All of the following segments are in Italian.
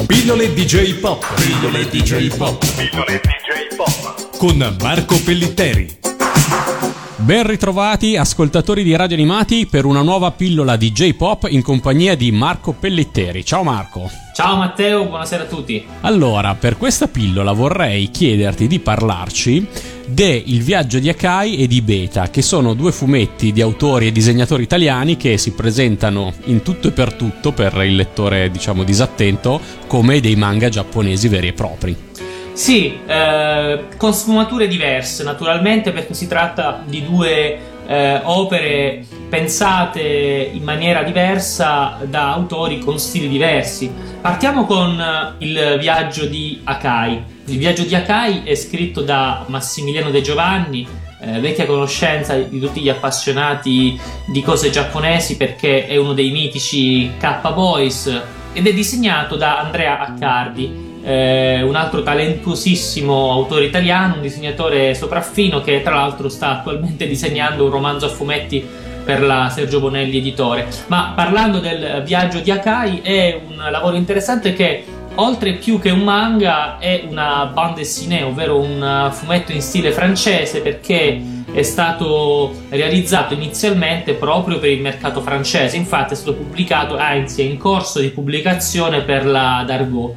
Pillole DJ Pop. Pillole DJ Pop. Pillole DJ Pop. Con Marco Pellitteri. Ben ritrovati ascoltatori di Radio Animati per una nuova pillola di J-Pop in compagnia di Marco Pellitteri. Ciao Marco. Ciao Matteo, buonasera a tutti. Allora, per questa pillola vorrei chiederti di parlarci de Il viaggio di Akai e di Beta, che sono due fumetti di autori e disegnatori italiani che si presentano in tutto e per tutto, per il lettore diciamo disattento, come dei manga giapponesi veri e propri. Sì, con sfumature diverse naturalmente, perché si tratta di due opere pensate in maniera diversa da autori con stili diversi. Partiamo con Il viaggio di Akai. Il viaggio di Akai è scritto da Massimiliano De Giovanni, vecchia conoscenza di tutti gli appassionati di cose giapponesi, perché è uno dei mitici K-Boys, ed è disegnato da Andrea Accardi, un altro talentuosissimo autore italiano, un disegnatore sopraffino che tra l'altro sta attualmente disegnando un romanzo a fumetti per la Sergio Bonelli editore. Ma parlando del viaggio di Akai, è un lavoro interessante che, oltre più che un manga, è una bande dessinée, ovvero un fumetto in stile francese, perché è stato realizzato inizialmente proprio per il mercato francese. Infatti è stato pubblicato, anzi è in corso di pubblicazione per la Dargaud.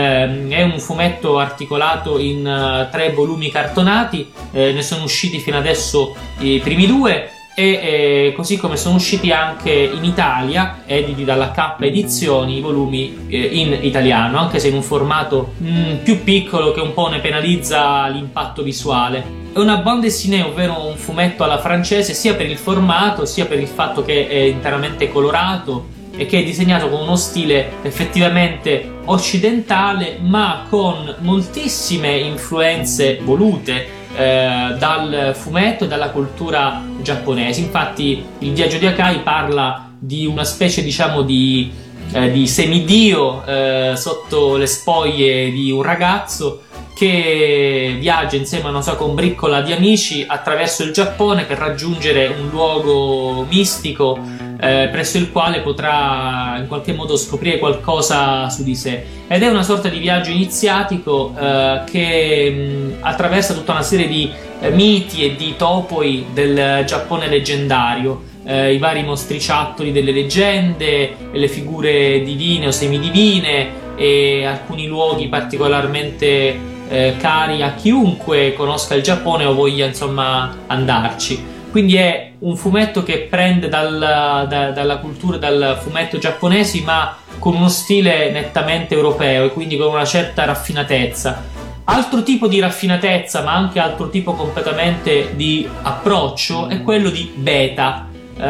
È un fumetto articolato in 3 volumi cartonati, ne sono usciti fino adesso i primi 2, e così come sono usciti anche in Italia, editi dalla K Edizioni, i volumi in italiano, anche se in un formato più piccolo che un po' ne penalizza l'impatto visuale. È una bande dessinée, ovvero un fumetto alla francese, sia per il formato sia per il fatto che è interamente colorato e che è disegnato con uno stile effettivamente occidentale, ma con moltissime influenze volute dal fumetto e dalla cultura giapponese. Infatti il viaggio di Akai parla di una specie diciamo di semidio sotto le spoglie di un ragazzo che viaggia insieme a una sua combriccola di amici attraverso il Giappone per raggiungere un luogo mistico presso il quale potrà in qualche modo scoprire qualcosa su di sé. Ed è una sorta di viaggio iniziatico che attraversa tutta una serie di miti e di topoi del Giappone leggendario, i vari mostriciattoli delle leggende, le figure divine o semidivine e alcuni luoghi particolarmente cari a chiunque conosca il Giappone o voglia insomma andarci. Quindi è un fumetto che prende dalla cultura, dal fumetto giapponesi, ma con uno stile nettamente europeo e quindi con una certa raffinatezza. Altro tipo di raffinatezza, ma anche altro tipo completamente di approccio, è quello di Beta,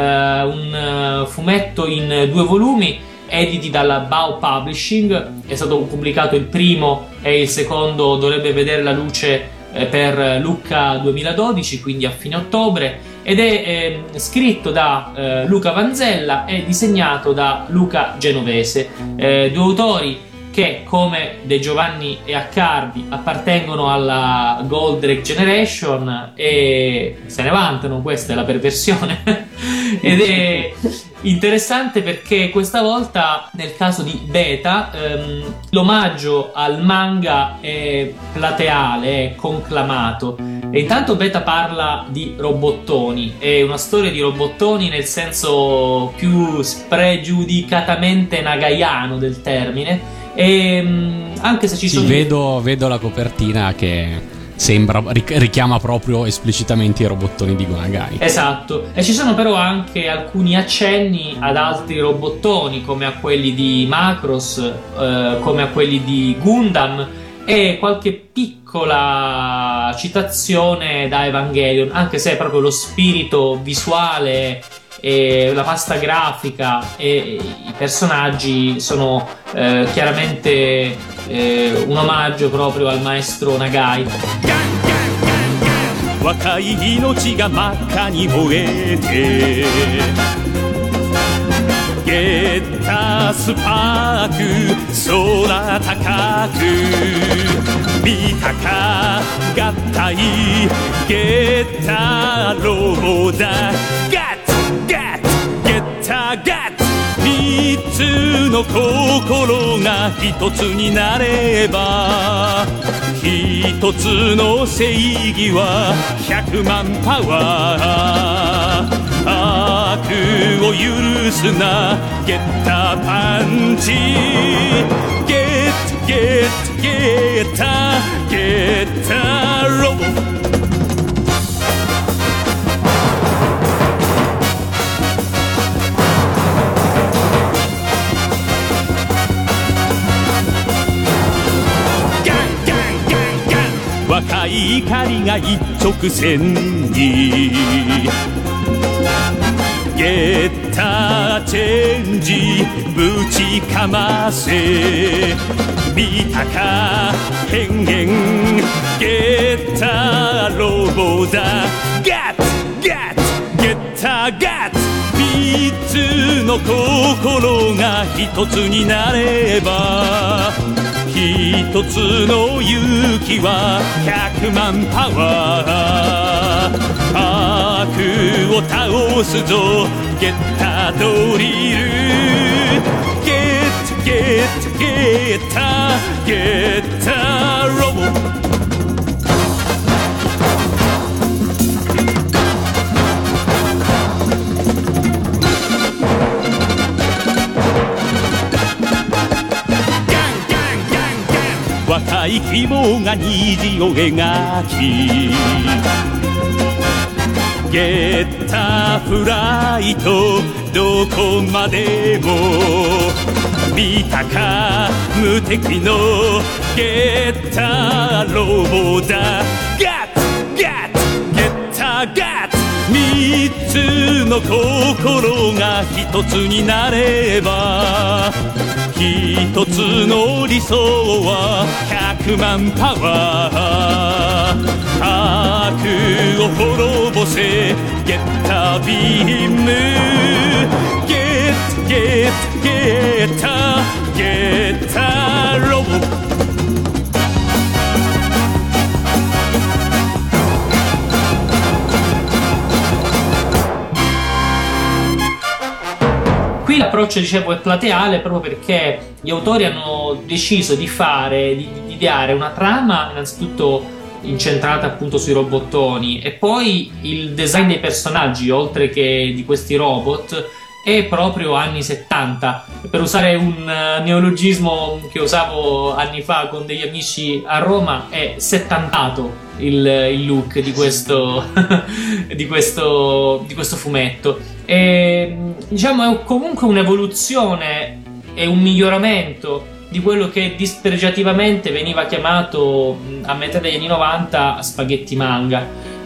un fumetto in 2 volumi editi dalla Bao Publishing. È stato pubblicato il primo e il secondo dovrebbe vedere la luce per Lucca 2012, quindi a fine ottobre, ed è scritto da Luca Vanzella e disegnato da Luca Genovese, 2 autori che, come De Giovanni e Accardi, appartengono alla Goldrake Generation e se ne vantano. Questa è la perversione ed è interessante perché questa volta, nel caso di Beta, l'omaggio al manga è plateale, è conclamato. E intanto Beta parla di robottoni, è una storia di robottoni nel senso più spregiudicatamente nagaiano del termine. E anche se ci sono vedo la copertina che sembra richiama proprio esplicitamente i robottoni di Gonagai. Esatto, e ci sono però anche alcuni accenni ad altri robottoni, come a quelli di Macross, come a quelli di Gundam, e qualche piccola citazione da Evangelion, anche se proprio lo spirito visuale e la pasta grafica e i personaggi sono chiaramente un omaggio proprio al maestro Nagai. 若い命が真っ赤に燃えてゲッタスパーク空高く見たか合体ゲッタロボだガッツガッツゲッタガッツ見三つの心が一つになれば一つの正義は100万パワー悪を許すなゲッタパンチゲッゲッゲッタゲッタロボ若い怒りが一直線にゲッタチェンジぶちかませ見たか変幻ゲッタロボだガッツガッツゲッタガッツ三つの心が一つになれば一つの勇気は100万パワー悪を倒すぞゲッタドリルゲッタゲッタゲッタゲッタロボ若い希望が虹を描きゲッタフライトどこまでも見たか無敵のゲッタロボだガッツガッツゲッタガッツ三つの心が一つになれば一つの理想は100万パワー悪を滅ぼせゲッタビームゲッタゲッタゲッタゲッタロボ l'approccio dicevo è plateale proprio perché gli autori hanno deciso di ideare una trama innanzitutto incentrata appunto sui robottoni e poi il design dei personaggi oltre che di questi robot è proprio anni 70, per usare un neologismo che usavo anni fa con degli amici a Roma, è settantato il look di questo di questo fumetto. E, diciamo è comunque un'evoluzione e un miglioramento di quello che dispregiativamente veniva chiamato a metà degli anni 90 spaghetti manga.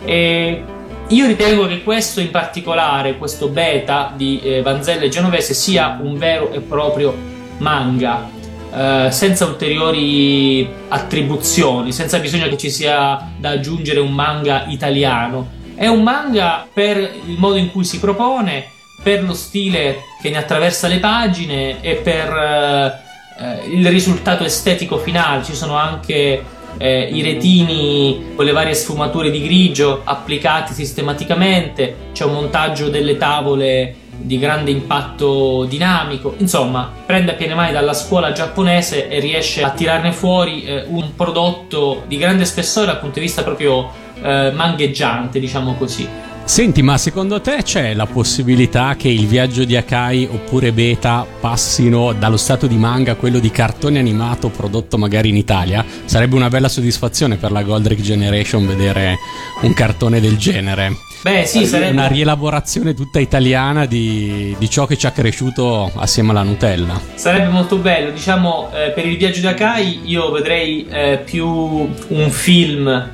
E io ritengo che questo in particolare, questo beta di Vanzella e Genovese, sia un vero e proprio manga, senza ulteriori attribuzioni, senza bisogno che ci sia da aggiungere un manga italiano. È un manga per il modo in cui si propone, per lo stile che ne attraversa le pagine e per il risultato estetico finale. Ci sono anche i retini con le varie sfumature di grigio applicati sistematicamente, c'è un montaggio delle tavole di grande impatto dinamico, insomma prende a piene mani dalla scuola giapponese e riesce a tirarne fuori un prodotto di grande spessore dal punto di vista proprio mangheggiante, diciamo così. Senti, ma secondo te c'è la possibilità che il viaggio di Akai oppure Beta passino dallo stato di manga a quello di cartone animato prodotto magari in Italia? Sarebbe una bella soddisfazione per la Goldrick Generation vedere un cartone del genere. Beh sì, sarebbe una rielaborazione tutta italiana di ciò che ci ha cresciuto assieme alla Nutella. Sarebbe molto bello, diciamo, per il viaggio di Akai io vedrei più un film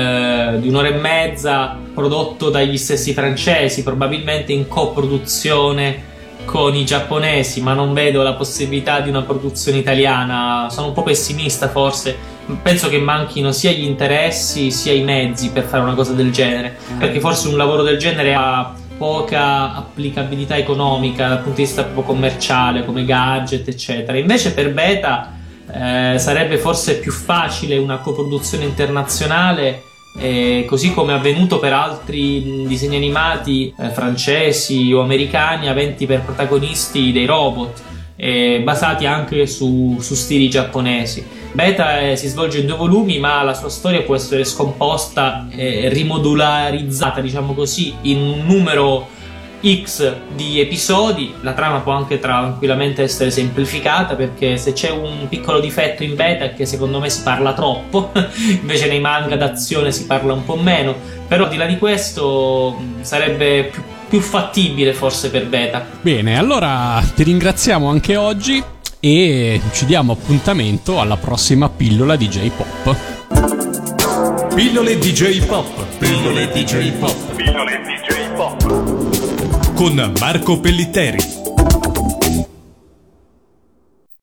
di un'ora e mezza prodotto dagli stessi francesi, probabilmente in coproduzione con i giapponesi, ma non vedo la possibilità di una produzione italiana. Sono un po' pessimista forse, penso che manchino sia gli interessi sia i mezzi per fare una cosa del genere, perché forse un lavoro del genere ha poca applicabilità economica dal punto di vista proprio commerciale, come gadget eccetera. Invece per Beta sarebbe forse più facile una coproduzione internazionale così come avvenuto per altri disegni animati francesi o americani aventi per protagonisti dei robot, basati anche su stili giapponesi. Beta si svolge in 2 volumi, ma la sua storia può essere scomposta e rimodularizzata, diciamo così, in un numero X di episodi. La trama può anche tranquillamente essere semplificata, perché se c'è un piccolo difetto in Beta è che secondo me si parla troppo invece nei manga d'azione si parla un po' meno, però al di là di questo sarebbe più fattibile forse per Beta. Bene, allora ti ringraziamo anche oggi e ci diamo appuntamento alla prossima pillola di J-Pop. Pillole di J-Pop. Pillole di J-Pop. Pillole di J-Pop. Con Marco Pellitteri.